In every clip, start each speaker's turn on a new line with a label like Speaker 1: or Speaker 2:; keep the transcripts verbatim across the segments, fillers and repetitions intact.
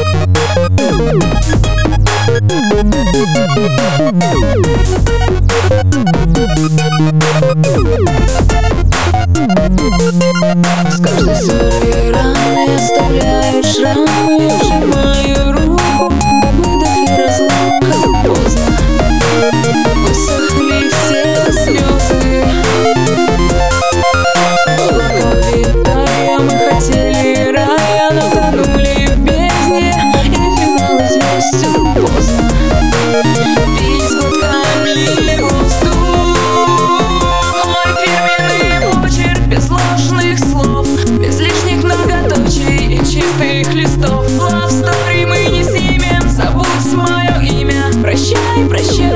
Speaker 1: С каждой ссорой раны оставляют шрамы. Сжимаю руку, выдох и разлука. Поздно, высохли все слезы. Облака витая, мы хотели рая, но тонули в бездне, и финал известен. Поздно, пить глотками воздух. Мой фирменный почерк без ложных слов, без лишних многоточий и чистых листов. Love story мы не снимем, забудь мое имя. Прощай, прощай,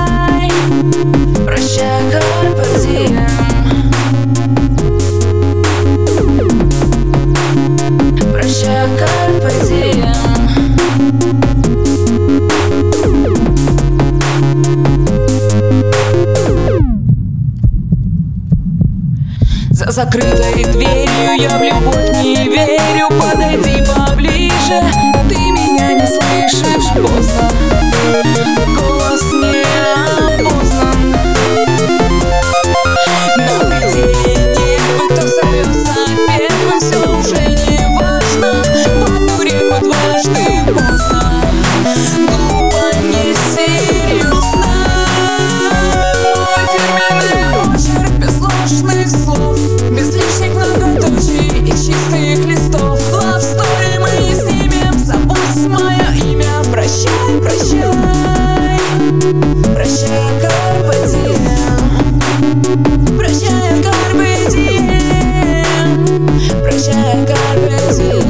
Speaker 1: прощай, carpe diem. Прощай, carpe diem. За закрытой дверью я в любовь не верю. Подойди поближе, ты меня не слышишь. Поздно, голос не опознан. Но где небо, кто сорвется первым, все уже не важно. В одну реку дважды поздно, глупо, несерьезно. Мой фирменный почерк без ложных слов, без лишних многоточий и чистых листов. Love story мы не снимем, забудь мое имя. Прощай, прощай, прощай, carpe diem. Прощай, carpe diem. Прощай, carpe diem.